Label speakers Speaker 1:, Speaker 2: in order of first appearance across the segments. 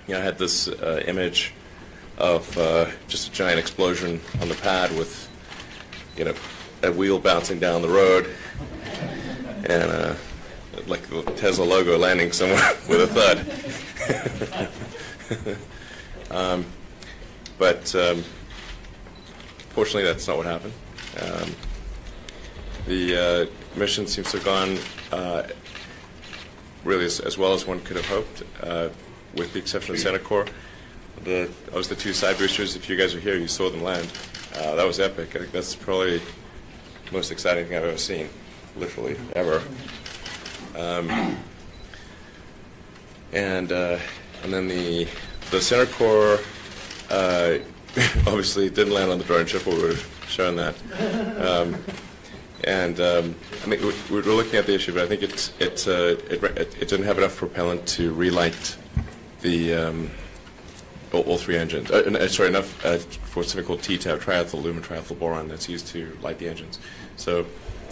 Speaker 1: I had this image of just a giant explosion on the pad with, a wheel bouncing down the road, and like the Tesla logo landing somewhere with a thud. But fortunately, that's not what happened. The mission seems to have gone really as well as one could have hoped, with the exception of Center-Core. The two side boosters, if you guys were here, you saw them land. That was epic. I think that's probably the most exciting thing I've ever seen, literally, ever. And then the Center-Core obviously didn't land on the drone ship, or we would have shown that. I mean, we're looking at the issue, but I think it didn't have enough propellant to relight the all three engines. Sorry, enough for something called TTAB, triethyl aluminum triethyl boron, that's used to light the engines. So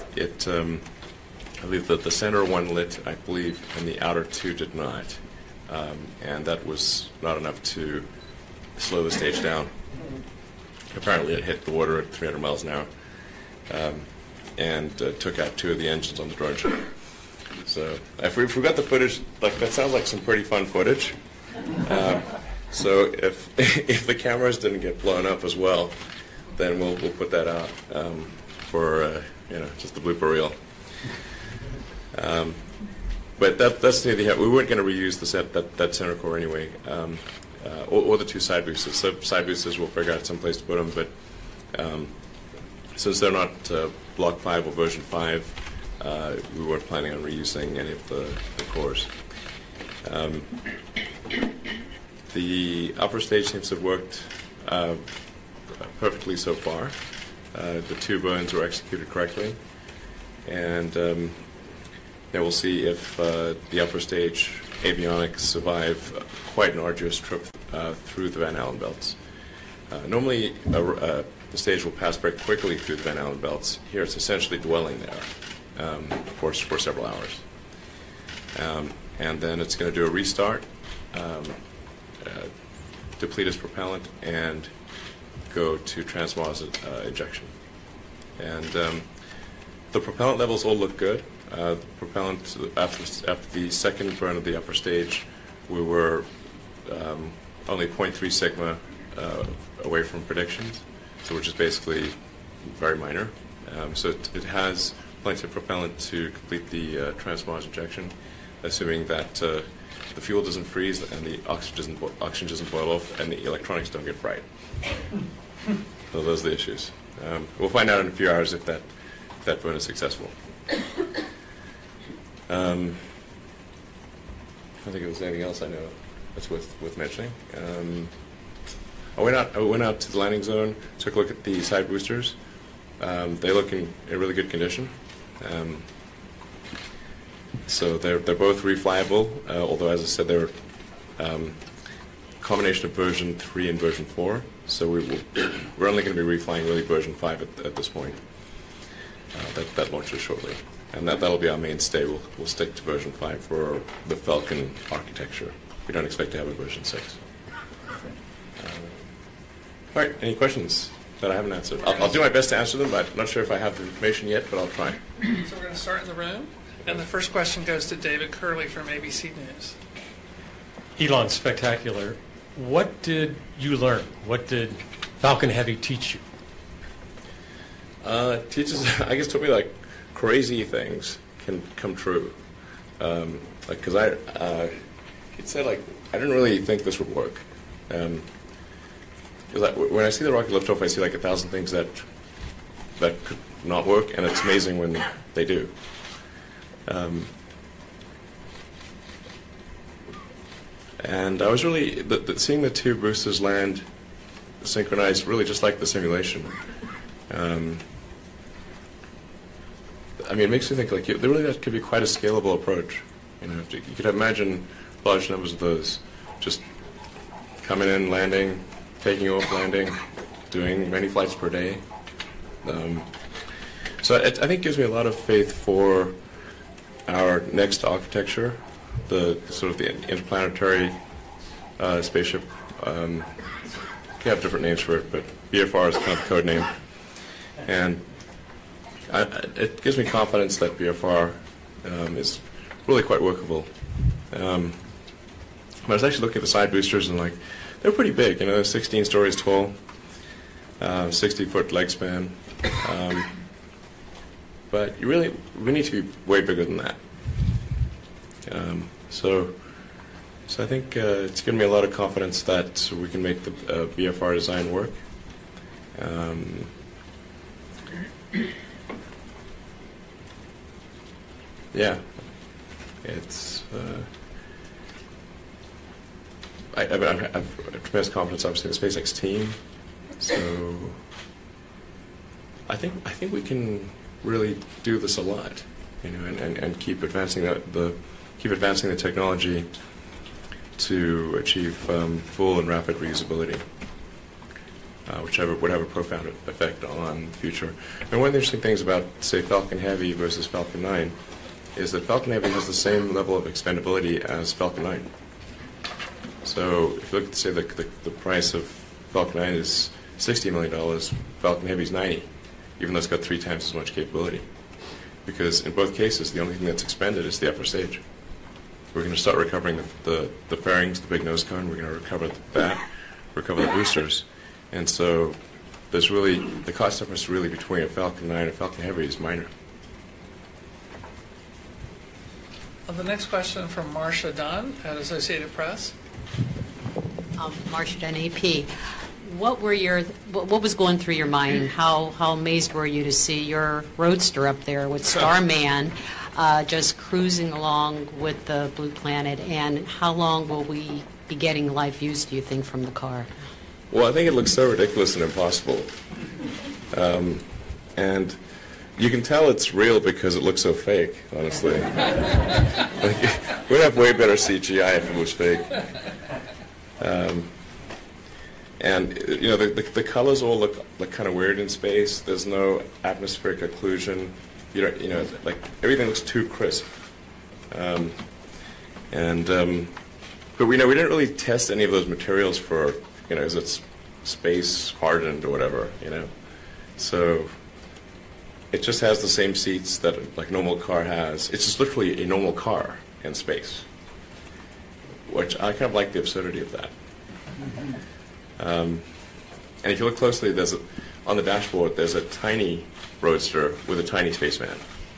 Speaker 1: I believe that the center one lit, I believe, and the outer two did not, and that was not enough to slow the stage down. Apparently, it hit the water at 300 miles an hour. And took out two of the engines on the drone ship. So if we got the footage, that sounds like some pretty fun footage. So if the cameras didn't get blown up as well, then we'll put that out for just the blooper reel. But that's the idea. We weren't going to reuse that Center-Core anyway, or the two side boosters. So side boosters, we'll figure out some place to put them, but. Since they're not Block 5 or version 5, we weren't planning on reusing any of the cores. The upper stage seems to have worked perfectly so far. The two burns were executed correctly. And then we'll see if the upper stage avionics survive quite an arduous trip through the Van Allen belts. Normally, the stage will pass very quickly through the Van Allen belts. Here, it's essentially dwelling there for several hours. And then it's going to do a restart, deplete its propellant, and go to transmos injection. And the propellant levels all look good. The propellant, after the second burn of the upper stage, we were only 0.3 sigma away from predictions, so which is basically very minor. So it has plenty of propellant to complete the transmos injection, assuming that the fuel doesn't freeze and the oxygen doesn't boil off and the electronics don't get fried. So those are the issues. We'll find out in a few hours if that burn is successful. I don't think there's anything else I know that's worth mentioning. I went out to the landing zone, took a look at the side boosters. They look in really good condition. So they're both reflyable, although, as I said, they're a combination of version 3 and version 4. So we're only going to be reflying really version 5 at this point. That launches shortly. And that'll be our mainstay. We'll stick to version 5 for the Falcon architecture. We don't expect to have a version 6. All right, any questions that I haven't answered? I'll do my best to answer them, but I'm not sure if I have the information yet, but I'll try.
Speaker 2: So we're going to start in the room. And the first question goes to David Curley from ABC News.
Speaker 3: Elon, spectacular. What did you learn? What did Falcon Heavy teach you?
Speaker 1: Taught me like crazy things can come true. Because I didn't really think this would work. When I see the rocket lift off, I see like 1,000 things that could not work, and it's amazing when they do. And I was really seeing the two boosters land synchronized, really just like the simulation. I mean, it makes me think that could be quite a scalable approach. You could imagine large numbers of those just coming in, landing, taking off, landing, doing many flights per day. So I think it gives me a lot of faith for our next architecture, the sort of the interplanetary spaceship. Can have different names for it, but BFR is kind of the code name. And it gives me confidence that BFR is really quite workable. But I was actually looking at the side boosters and like, they're pretty big. You know, they're 16 stories tall, 60-foot leg span. But we need to be way bigger than that. So I think it's given me a lot of confidence that we can make the BFR design work. Yeah, it's. I have tremendous confidence, obviously, in the SpaceX team. So I think we can really do this a lot, you know, and keep advancing the technology to achieve full and rapid reusability, which would have a profound effect on the future. And one of the interesting things about, say, Falcon Heavy versus Falcon 9 is that Falcon Heavy has the same level of expendability as Falcon 9. So if you look at, say, the price of Falcon 9 is $60 million, Falcon Heavy is 90, even though it's got 3 times as much capability. Because in both cases, the only thing that's expended is the upper stage. We're going to start recovering the fairings, the big nose cone. We're going to recover that, recover the boosters. And so there's really, the cost difference really between a Falcon 9 and a Falcon Heavy is minor.
Speaker 2: The next question from Marcia Dunn at Associated Press.
Speaker 4: Marcia Dunn, AP. What was going through your mind? How amazed were you to see your Roadster up there with Starman just cruising along with the Blue Planet? And how long will we be getting live views, do you think, from the car?
Speaker 1: Well, I think it looks so ridiculous and impossible. And you can tell it's real because it looks so fake, honestly. We'd have way better CGI if it was fake. And you know, the colors all look kind of weird in space. There's no atmospheric occlusion. You know, like everything looks too crisp. But we didn't really test any of those materials for, you know, is it space hardened or whatever, you know. So it just has the same seats that like normal car has. It's just literally a normal car in space, which I kind of like the absurdity of that. And if you look closely, on the dashboard, there's a tiny Roadster with a tiny spaceman.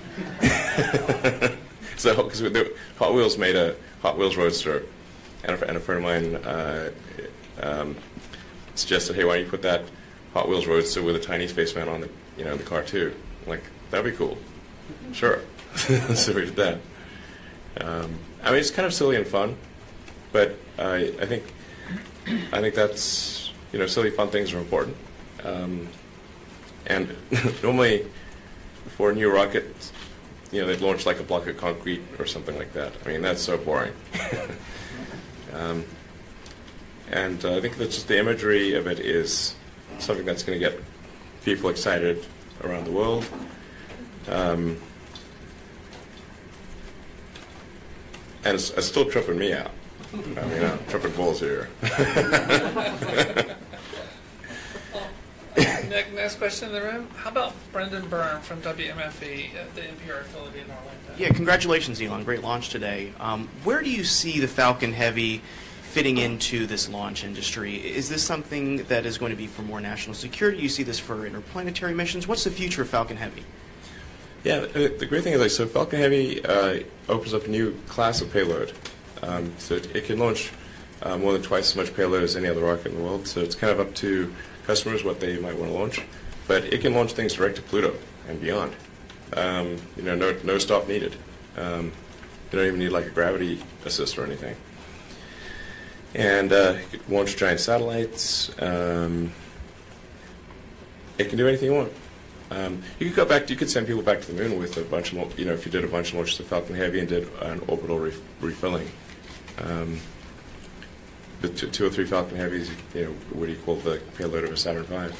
Speaker 1: So, because Hot Wheels made a Hot Wheels Roadster, and a friend of mine suggested, hey, why don't you put that Hot Wheels Roadster with a tiny spaceman on the car too? I'm like, that'd be cool. Sure. So we did that. I mean, it's kind of silly and fun, but I think that's, you know, silly, fun things are important. And normally, for a new rocket, you know, they'd launch like a block of concrete or something like that. I mean, that's so boring. And I think that's just the imagery of it is something that's going to get people excited around the world. And it's still tripping me out. I mean, I'm tripping balls here.
Speaker 2: Next question in the room. How about Brendan Byrne from WMFE, the NPR affiliate in Orlando?
Speaker 5: Yeah, congratulations, Elon. Great launch today. Where do you see the Falcon Heavy fitting into this launch industry? Is this something that is going to be for more national security? Do you see this for interplanetary missions? What's the future of Falcon Heavy?
Speaker 1: Yeah, the great thing is, like, so Falcon Heavy opens up a new class of payload. So it can launch more than twice as much payload as any other rocket in the world. So it's kind of up to customers what they might want to launch. But it can launch things direct to Pluto and beyond. You know, no stop needed. You don't even need like a gravity assist or anything. And it can launch giant satellites. It can do anything you want. You could go back. You could send people back to the moon with a bunch of, you know, if you did a bunch of launches of Falcon Heavy and did an orbital refilling. The 2 or 3 Falcon Heavies, you know, would equal the payload of a Saturn V.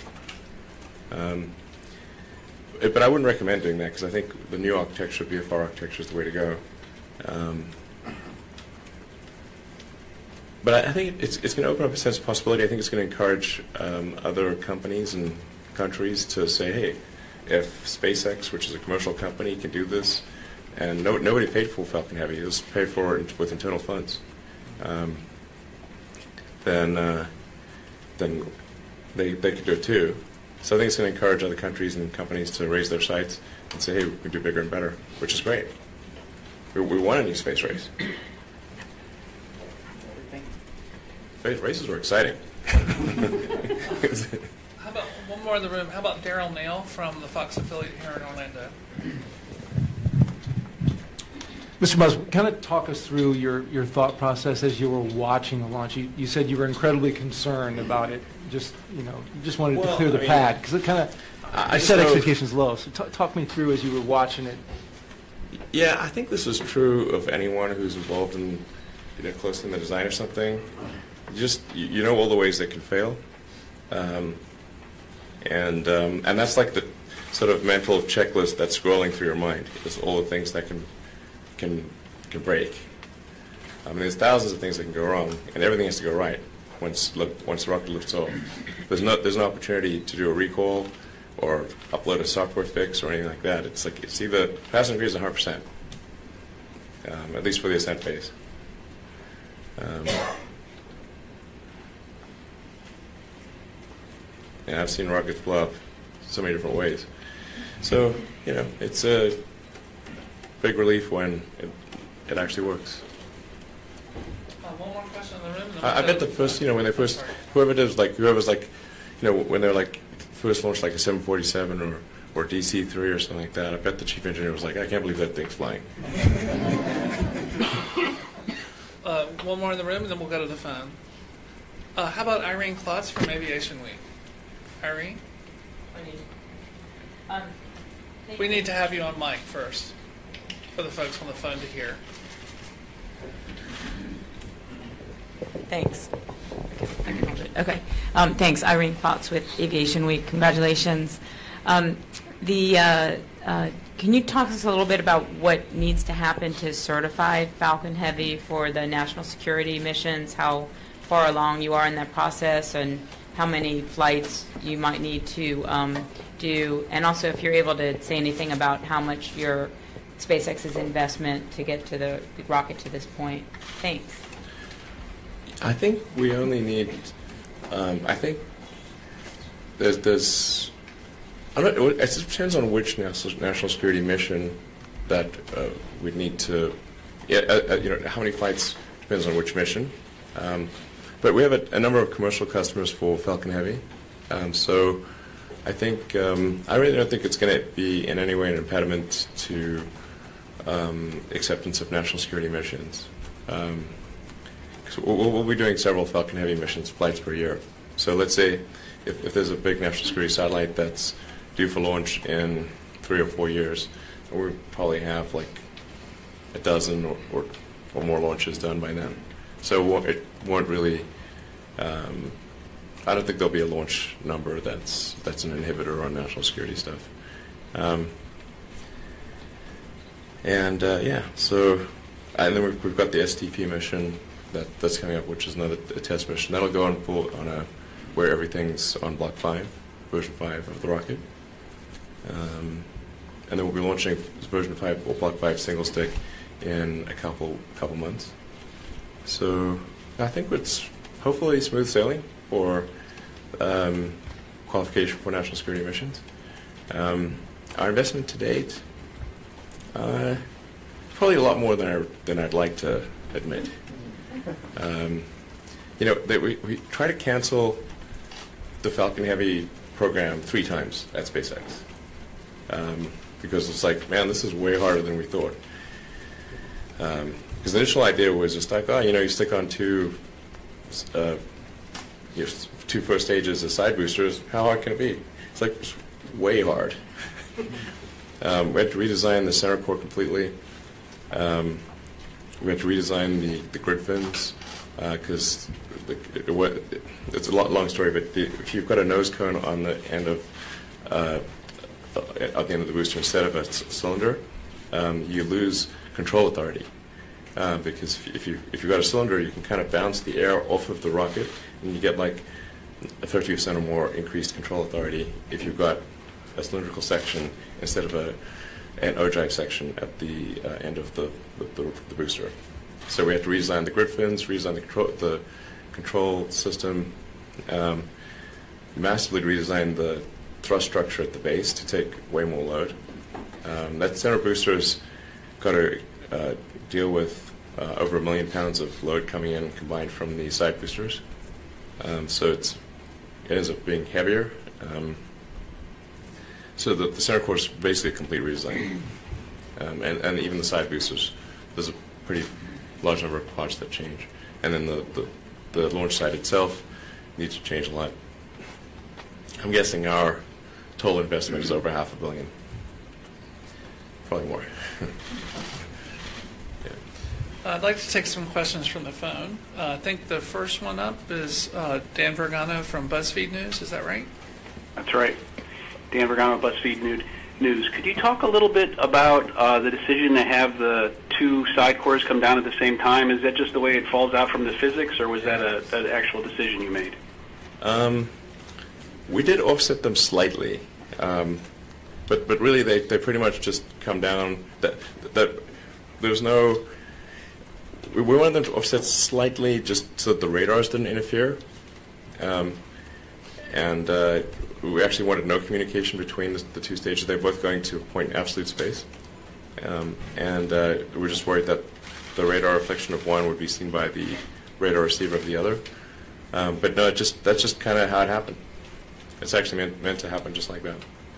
Speaker 1: But I wouldn't recommend doing that because I think the new architecture, BFR architecture, is the way to go. But I think it's going to open up a sense of possibility. I think it's going to encourage other companies and countries to say, hey, if SpaceX, which is a commercial company, can do this, and nobody paid for Falcon Heavy, it was paid for with internal funds, then they could do it too. So I think it's going to encourage other countries and companies to raise their sights and say, hey, we can do bigger and better, which is great. We want a new space race. Space races were exciting.
Speaker 2: How about one more in the room? How about Daryl Nail from the Fox affiliate here in Orlando?
Speaker 6: Mr. Musk, kind of talk us through your thought process as you were watching the launch. You said you were incredibly concerned about it. Just wanted to clear the pad because it kind of set expectations low. So talk me through as you were watching it.
Speaker 1: Yeah, I think this is true of anyone who's involved in, closely in the design of something. You know all the ways they can fail, and that's like the sort of mental checklist that's scrolling through your mind. It's all the things that can break. I mean, there's thousands of things that can go wrong, and everything has to go right once the rocket lifts off. There's no opportunity to do a recall or upload a software fix or anything like that. It's either passing degree is 100%, at least for the ascent phase. Yeah, I've seen rockets blow up so many different ways. So, it's a big relief when it actually works.
Speaker 2: One more question in the room.
Speaker 1: I bet the first, when they first, whoever's when they're like first launched like a 747 or DC-3 or something like that, I bet the chief engineer was like, I can't believe that thing's flying.
Speaker 2: One more in the room, and then we'll go to the phone. How about Irene Klotz from Aviation Week? Irene? We need to have you on mic first for the folks on the phone to hear.
Speaker 7: Thanks. I can hold it. Okay. Thanks, Irene Klotz with Aviation Week. Congratulations. Can you talk to us a little bit about what needs to happen to certify Falcon Heavy for the national security missions, how far along you are in that process, and how many flights you might need to do, and also if you're able to say anything about how much your SpaceX's investment to get to the rocket to this point. Thanks.
Speaker 1: I think we only need. I think there's. It depends on which national security mission that we'd need to. How many flights depends on which mission. But we have a number of commercial customers for Falcon Heavy, so I think I really don't think it's going to be in any way an impediment to acceptance of national security missions. We'll be doing several Falcon Heavy missions, flights per year. So let's say if there's a big national security satellite that's due for launch in 3 or 4 years, we'll probably have like a dozen or more launches done by then. So it won't really. I don't think there'll be a launch number that's an inhibitor on national security stuff. So and then we've got the STP mission that's coming up, which is another test mission. That'll go on where everything's on Block 5, version 5 of the rocket. And then we'll be launching version 5 or Block 5 single stick in a couple months. So I think it's hopefully smooth sailing for qualification for national security missions. Our investment to date, probably a lot more than I'd like to admit. We try to cancel the Falcon Heavy program 3 times at SpaceX because it's like, man, this is way harder than we thought. Because the initial idea was just like, you stick on two first stages as side boosters. How hard can it be? It's like it's way hard. We had to redesign the center core completely. We had to redesign the grid fins because it's a long story. But if you've got a nose cone on the end of at the end of the booster instead of a cylinder, you lose control authority. because if you've got a cylinder, you can kind of bounce the air off of the rocket, and you get like a 30% or more increased control authority if you've got a cylindrical section instead of an ogive section at the end of the booster. So we have to redesign the grid fins, redesign the control system, massively redesign the thrust structure at the base to take way more load. That center booster's got to deal with over 1 million pounds of load coming in combined from the side boosters. So it ends up being heavier. So the center core is basically a complete redesign. And even the side boosters, there's a pretty large number of parts that change. And then the launch site itself needs to change a lot. I'm guessing our total investment is over $500 million. Probably more. Yeah.
Speaker 2: I'd like to take some questions from the phone. I think the first one up is Dan Vergano from BuzzFeed News. Is that right?
Speaker 8: That's right. Dan Vergano, BuzzFeed News. Could you talk a little bit about the decision to have the two side cores come down at the same time? Is that just the way it falls out from the physics, or was that an actual decision you made?
Speaker 1: We did offset them slightly, but really they pretty much just come down. That there's no. We wanted them to offset slightly just so that the radars didn't interfere, and we actually wanted no communication between the two stages. They're both going to a point in absolute space, and we're just worried that the radar reflection of one would be seen by the radar receiver of the other. But no, that's just kind of how it happened. It's actually meant to happen just like that.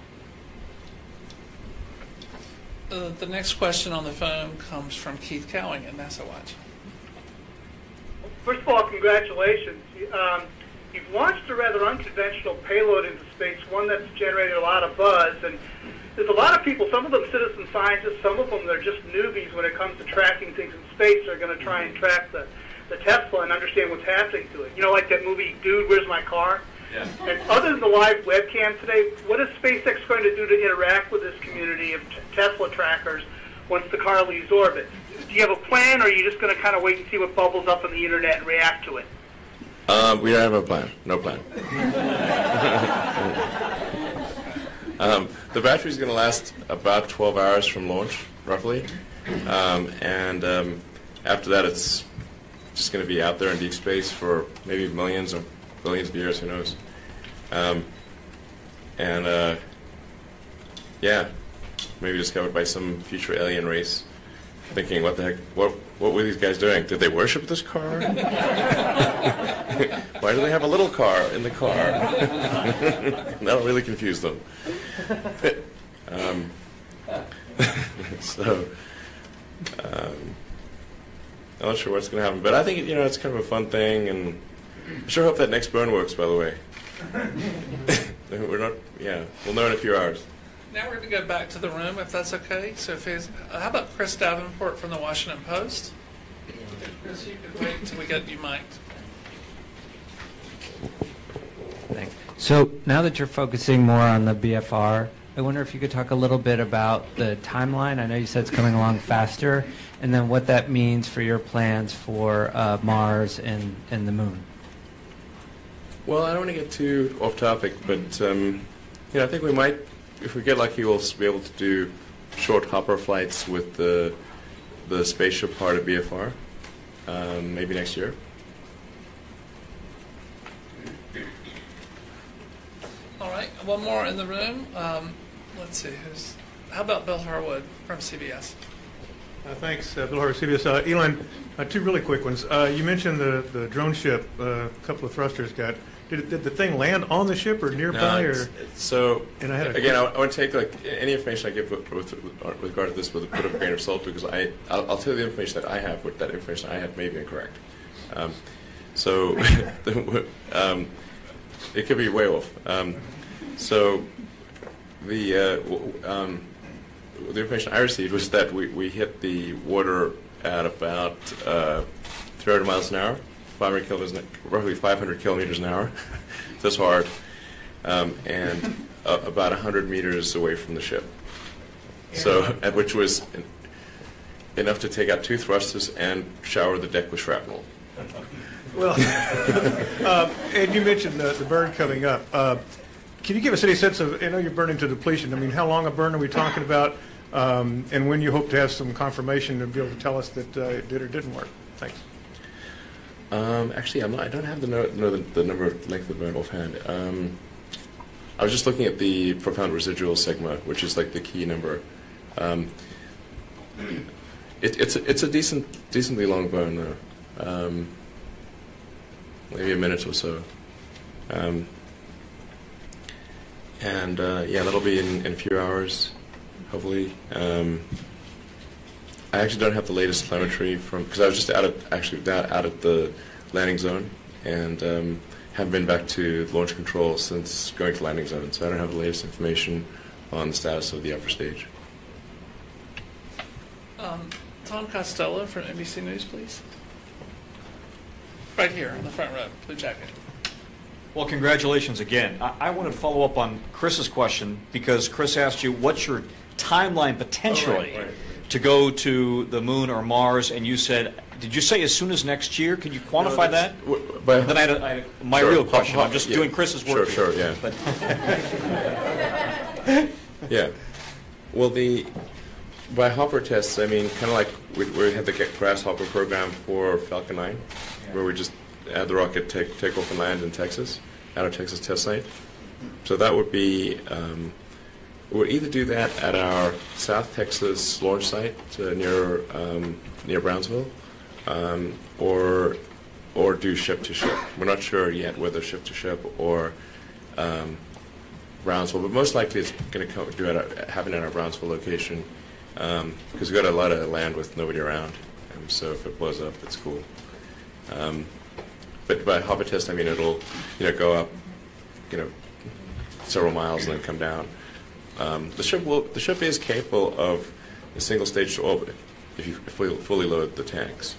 Speaker 2: The next question on the phone comes from Keith Cowing at NASA Watch.
Speaker 9: First of all, congratulations. You've launched a rather unconventional payload into space, one that's generated a lot of buzz. And there's a lot of people, some of them citizen scientists, some of them they're just newbies when it comes to tracking things in space. They're going to try and track the Tesla and understand what's happening to it. You know, like that movie, Dude, Where's My Car? Yeah. And other than the live webcam today, what is SpaceX going to do to interact with this community of Tesla trackers once the car leaves orbit? Do you have a plan, or are you just going to kind of wait and see what bubbles up on the internet and react to it?
Speaker 1: We don't have a plan. No plan. The battery's going to last about 12 hours from launch, roughly. And after that, it's just going to be out there in deep space for maybe millions or billions of years, who knows. Yeah, maybe discovered by some future alien race, thinking, what the heck, what were these guys doing? Did they worship this car? Why do they have a little car in the car? That'll really confuse them. I'm not sure what's going to happen, but I think it's kind of a fun thing, and I sure hope that next burn works, by the way. We'll know in a few hours.
Speaker 2: Now we're going to go back to the room, if that's okay. So, how about Chris Davenport from the Washington Post? Chris, you can wait until we get you mic'd.
Speaker 10: Thanks. So now that you're focusing more on the BFR, I wonder if you could talk a little bit about the timeline. I know you said it's coming along faster, and then what that means for your plans for Mars and the Moon.
Speaker 1: Well, I don't want to get too off topic, but I think we might, if we get lucky, we'll be able to do short hopper flights with the spaceship part of BFR, maybe next year.
Speaker 2: All right, one more in the room. Let's see, how about Bill Harwood from CBS?
Speaker 11: Thanks, Bill Harwood, CBS. Elon, two really quick ones. You mentioned the drone ship, a couple of thrusters got. Did the thing land on the ship or nearby?
Speaker 1: No, so, and I want to take any information I give with regard to this with a bit of a grain of salt, because I'll tell you the information that I have, but that information I have may be incorrect. It could be way off. So the information I received was that we hit the water at about 300 miles an hour, roughly 500 kilometers an hour. That's hard, and about 100 meters away from the ship. So, which was enough to take out 2 thrusters and shower the deck with shrapnel.
Speaker 11: Well, and you mentioned the burn coming up. Can you give us any sense of, I know you're burning to depletion. I mean, how long a burn are we talking about? And when you hope to have some confirmation to be able to tell us that it did or didn't work? Thanks.
Speaker 1: Actually, I don't have the number of length of burn offhand. I was just looking at the profound residual sigma, which is like the key number. It's a decently long burn though, maybe a minute or so, and yeah, that'll be in a few hours, hopefully. I actually don't have the latest telemetry because I was just out of the landing zone and haven't been back to launch control since going to landing zone, so I don't have the latest information on the status of the upper stage.
Speaker 2: Tom Costello from NBC News, please. Right here on the front row, blue jacket.
Speaker 12: Well, congratulations again. I want to follow up on Chris's question because Chris asked you what's your timeline potentially to go to the moon or Mars, and you said, did you say as soon as next year? Can you quantify that? Then I had my real question. I'm just doing Chris's work.
Speaker 1: Sure, yeah. Yeah. Well, by Hopper tests, I mean, kind of like we had the Grasshopper program for Falcon 9, where we just had the rocket take off and land in Texas, at our Texas test site. So that would be, we'll either do that at our South Texas launch site near Brownsville, or do ship-to-ship. We're not sure yet whether ship-to-ship or Brownsville, but most likely it's going to happen at our Brownsville location. Because we've got a lot of land with nobody around, so if it blows up, it's cool. But by Hopper test, I mean it'll, go up, several miles and then come down. The ship is capable of a single stage to orbit if you fully load the tanks.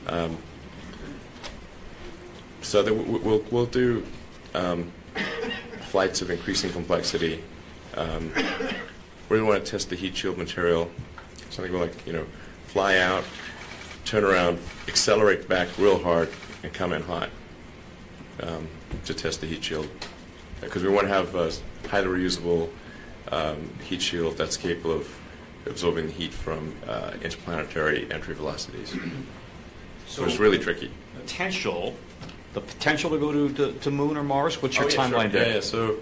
Speaker 1: So we'll do flights of increasing complexity. We want to test the heat shield material, something like, fly out, turn around, accelerate back real hard, and come in hot to test the heat shield. Because we want to have a highly reusable heat shield that's capable of absorbing the heat from interplanetary entry velocities. So it's really tricky.
Speaker 12: The potential to go to Moon or Mars? What's your timeline there?
Speaker 1: Yeah, so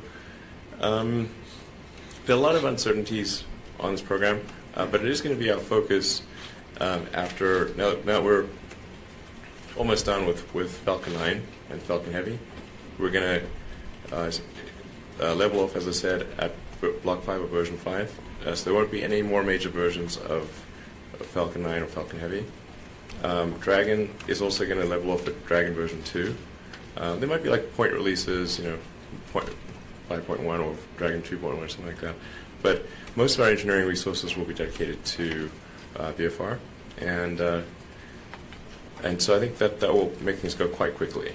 Speaker 1: there are a lot of uncertainties on this program, but it is going to be our focus after. Now we're almost done with Falcon 9 and Falcon Heavy. We're going to level off, as I said, at Block 5 of version 5. So there won't be any more major versions of Falcon 9 or Falcon Heavy. Dragon is also going to level off at Dragon version 2. There might be like point releases, 5.1 or Dragon 2.1 or something like that. But most of our engineering resources will be dedicated to VFR, and so I think that will make things go quite quickly.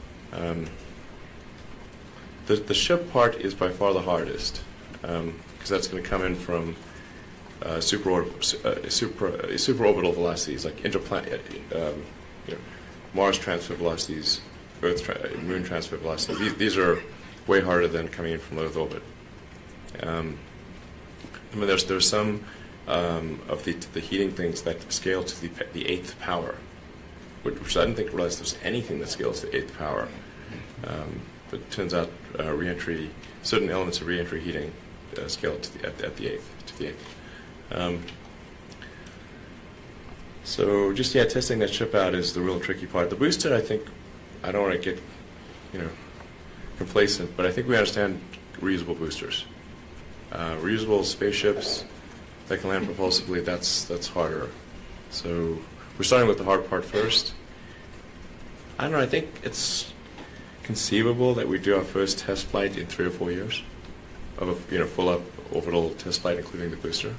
Speaker 1: The ship part is by far the hardest, because that's going to come in from superorbital velocities, like Mars transfer velocities, Moon transfer velocities. These are way harder than coming in from low Earth orbit. I mean, there's some of the heating things that scale to the 8th power, which I didn't realize there's anything that scales to 8th power. But it turns out certain elements of re-entry heating scale to the 8th. So just testing that ship out is the real tricky part. The booster, I think, I don't want to get complacent, but I think we understand reusable boosters. Reusable spaceships that can land propulsively, that's harder. So we're starting with the hard part first. I don't know, I think it's conceivable that we do our first test flight in 3 or 4 years of a full up orbital test flight, including the booster.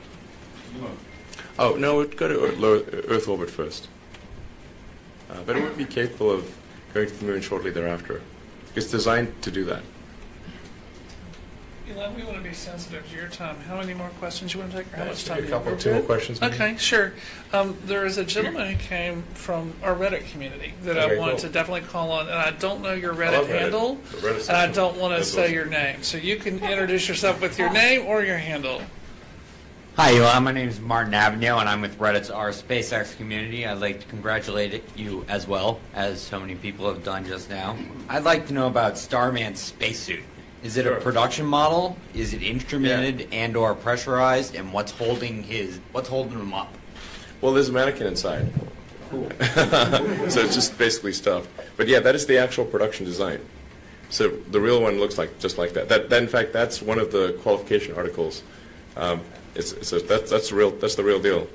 Speaker 1: Oh, no, we'd go to Earth orbit first. But it would be capable of going to the moon shortly thereafter. It's designed to do that.
Speaker 2: Elon, we want to be sensitive to your time. How many more questions you want to take, or how much time?
Speaker 1: A couple,
Speaker 2: We're
Speaker 1: two more
Speaker 2: good?
Speaker 1: questions, maybe?
Speaker 2: Okay, sure. There is a gentleman who came from our Reddit community that I
Speaker 1: Okay,
Speaker 2: wanted
Speaker 1: cool.
Speaker 2: to definitely call on, and I don't know your
Speaker 1: I
Speaker 2: Reddit
Speaker 1: love Reddit.
Speaker 2: handle,
Speaker 1: The Reddit
Speaker 2: and I
Speaker 1: section.
Speaker 2: don't want to
Speaker 1: That's
Speaker 2: say
Speaker 1: awesome.
Speaker 2: your name. So you can introduce yourself with your name or your handle.
Speaker 13: Hi, Elon. My name is Martin Avenio, and I'm with Reddit's R SpaceX community. I'd like to congratulate you as well, as so many people have done just now. I'd like to know about Starman's spacesuit. Is it
Speaker 1: Sure.
Speaker 13: a production model? Is it instrumented and/or pressurized? And what's holding him up?
Speaker 1: Well, there's a mannequin inside. So it's just basically stuff. But yeah, that is the actual production design. So the real one looks like just like that. That in fact, that's one of the qualification articles. That's the real deal.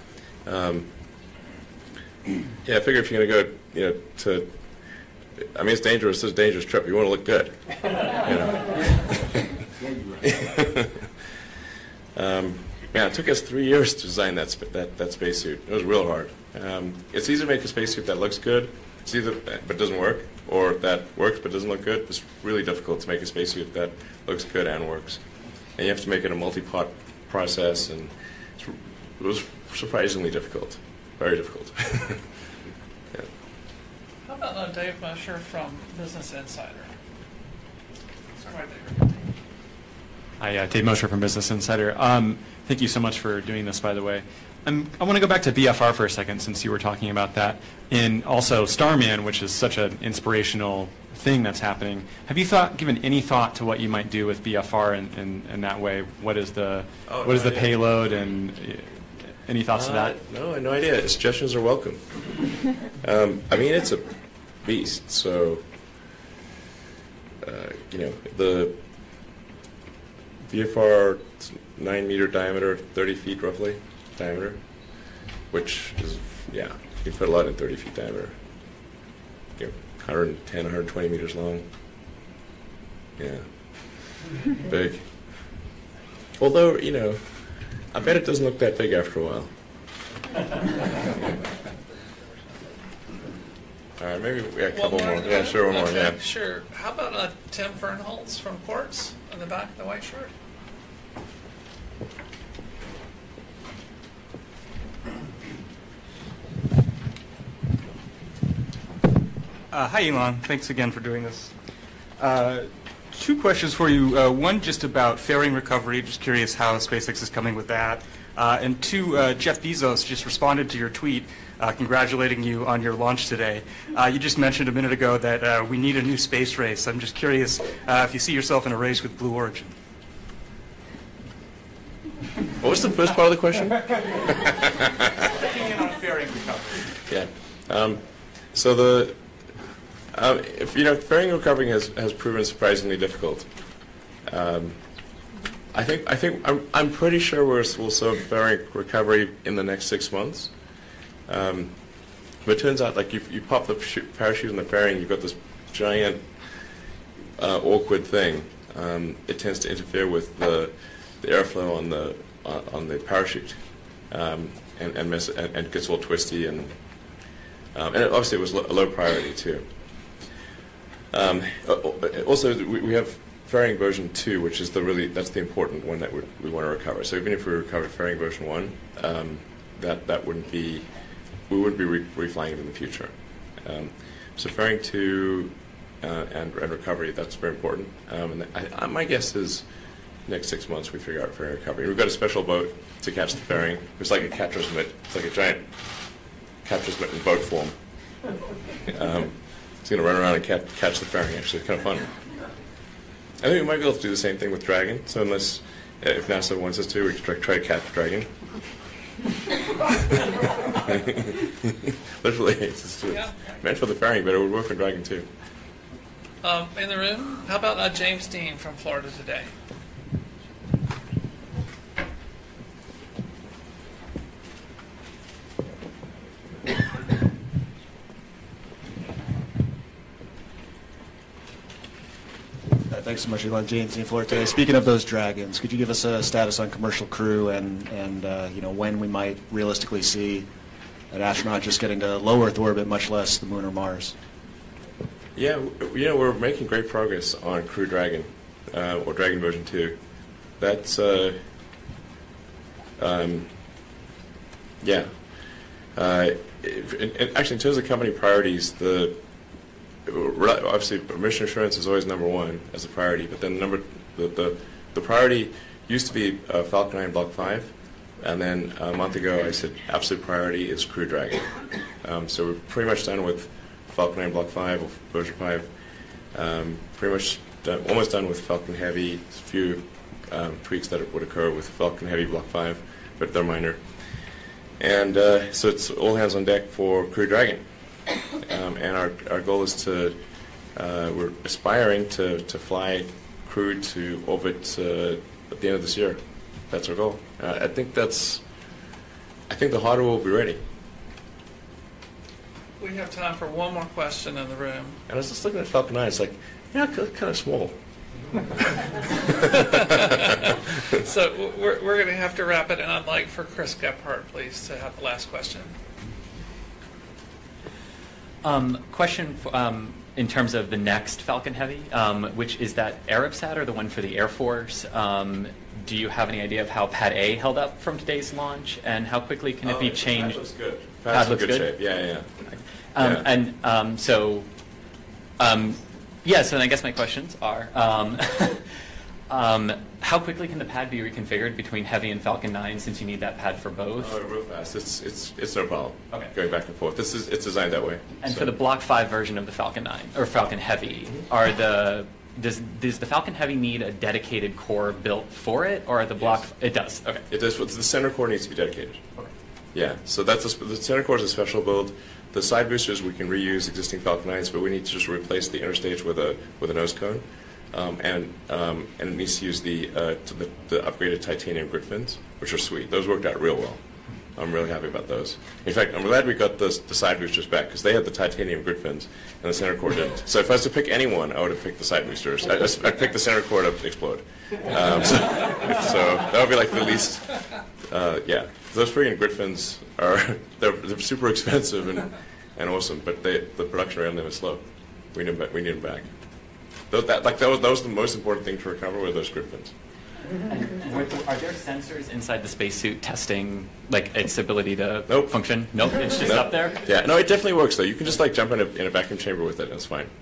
Speaker 1: Yeah, I figure if you're going to go, I mean, it's dangerous. It's a dangerous trip. You want to look good. Yeah, it took us 3 years to design that spacesuit. It was real hard. It's easy to make a spacesuit that looks good, but doesn't work, or that works but doesn't look good. It's really difficult to make a spacesuit that looks good and works. And you have to make it a multi-part process, and it was surprisingly difficult. Very difficult. Yeah.
Speaker 2: How about Dave Musher from Business Insider? Right there.
Speaker 14: Hi, Dave Mosher from Business Insider. Thank you so much for doing this, by the way. I want to go back to BFR for a second, since you were talking about that, and also Starman, which is such an inspirational thing that's happening. Have you given any thought to what you might do with BFR in that way? What is the payload, and any thoughts to that?
Speaker 1: No, no idea. Suggestions are welcome. I mean, it's a beast. So, the VFR 9-meter diameter, 30 feet roughly diameter, which is, yeah, you can fit a lot in 30 feet diameter. 110, 120 meters long. Yeah, big. Although, I bet it doesn't look that big after a while. All right, maybe we got a couple more. Yeah, sure, one more.
Speaker 2: Okay,
Speaker 1: Yeah.
Speaker 2: sure. How about Tim Fernholz from Quartz in the back of the white shirt?
Speaker 15: Hi, Elon. Thanks again for doing this. Two questions for you. One just about fairing recovery. Just curious how SpaceX is coming with that. And two, Jeff Bezos just responded to your tweet congratulating you on your launch today. You just mentioned a minute ago that we need a new space race. I'm just curious if you see yourself in a race with Blue Origin.
Speaker 1: What was the first part of the question?
Speaker 15: Checking in on fairing recovery.
Speaker 1: Yeah. So fairing and recovering has proven surprisingly difficult. I'm pretty sure we'll solve fairing recovery in the next 6 months. But it turns out, like, you pop the parachute in the fairing, you've got this giant awkward thing. It tends to interfere with the airflow on the parachute, and gets all twisty, and obviously it was a low priority too. Also, we have fairing version 2, which is that's the important one that we want to recover. So even if we recovered fairing version 1, that wouldn't be, we wouldn't be reflying it in the future. So fairing 2 and recovery, that's very important. And my guess is next 6 months we figure out fairing recovery. We've got a special boat to catch the fairing. It's like a catcher's mitt. It's like a giant catcher's mitt in boat form. It's going to run around and catch the fairing, actually. It's kind of fun. I think we might be able to do the same thing with Dragon. So if NASA wants us to, we can try to catch Dragon. Literally, it's meant for the fairing, but it would work for Dragon too.
Speaker 2: In the room, how about James Dean from Florida Today?
Speaker 16: Thanks so much, Elon. James Dean, Florida Today. Speaking of those Dragons, could you give us a status on commercial crew and when we might realistically see an astronaut just getting to low Earth orbit, much less the Moon or Mars?
Speaker 1: Yeah, we're making great progress on Crew Dragon. or Dragon version 2. That's yeah. Actually, in terms of company priorities, obviously mission assurance is always number one as a priority. But then the priority used to be Falcon 9 Block 5, and then a month ago I said absolute priority is Crew Dragon. So we're pretty much done with Falcon 9 Block 5 or version 5. Pretty much almost done with Falcon Heavy. A few tweaks that would occur with Falcon Heavy Block 5, but they're minor. And so it's all hands on deck for Crew Dragon. And our goal is to, we're aspiring to fly Crew to orbit at the end of this year. That's our goal. I think the hardware will be ready.
Speaker 2: We have time for one more question in the room.
Speaker 1: And I was just looking at Falcon 9, it's like, yeah, kind of small.
Speaker 2: So we're going to have to wrap it, and I'd like for Chris Gephardt, please, to have the last question.
Speaker 17: Question in terms of the next Falcon Heavy, which is that Arabsat or the one for the Air Force? Do you have any idea of how Pad A held up from today's launch, and how quickly can it be changed?
Speaker 1: Pad looks good.
Speaker 17: Pad looks
Speaker 1: in good
Speaker 17: good?
Speaker 1: shape. Yeah.
Speaker 17: So then I guess my questions are, how quickly can the pad be reconfigured between Heavy and Falcon 9, since you need that pad for both?
Speaker 1: Oh, real fast. It's no problem.
Speaker 17: Okay.
Speaker 1: Going back and forth. It's designed that way.
Speaker 17: And for the Block 5 version of the Falcon 9 or Falcon Heavy, does the Falcon Heavy need a dedicated core built for it, or the Block? Yes. It does. Okay.
Speaker 1: It does. The center core needs to be dedicated. Okay. Yeah. So the center core is a special build. The side boosters we can reuse existing Falcon 9s, but we need to just replace the interstage with a nose cone, and it needs to use the upgraded titanium grid fins, which are sweet. Those worked out real well. I'm really happy about those. In fact, I'm glad we got the side boosters back, because they had the titanium grid fins and the center core didn't. So if I was to pick anyone, I would have picked the side boosters. I'd pick the center core to explode. So that would be like the least. Yeah, those freaking grid fins they're super expensive and awesome, but the production rate on them is slow. We need them back. That was the most important thing to recover, were those grid fins.
Speaker 17: Are there sensors inside the spacesuit testing its ability to
Speaker 1: Nope.
Speaker 17: function? Nope, it's just up there?
Speaker 1: Yeah, no, it definitely works though. You can just jump in a vacuum chamber with it, and it's fine.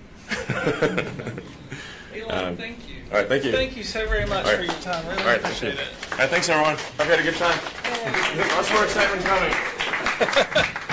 Speaker 2: Elon, thank you.
Speaker 1: All right, thank you.
Speaker 2: Thank you so very much for your time. Really appreciate it.
Speaker 1: All right, thanks everyone. I've had a good time. Lots more excitement coming.